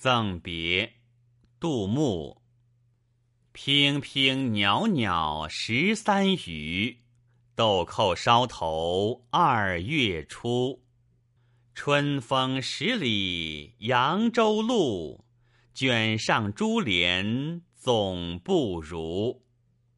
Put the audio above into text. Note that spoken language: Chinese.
赠别，杜牧。娉娉袅袅13余，豆蔻梢头2月初。春风10里扬州路，卷上珠帘总不如。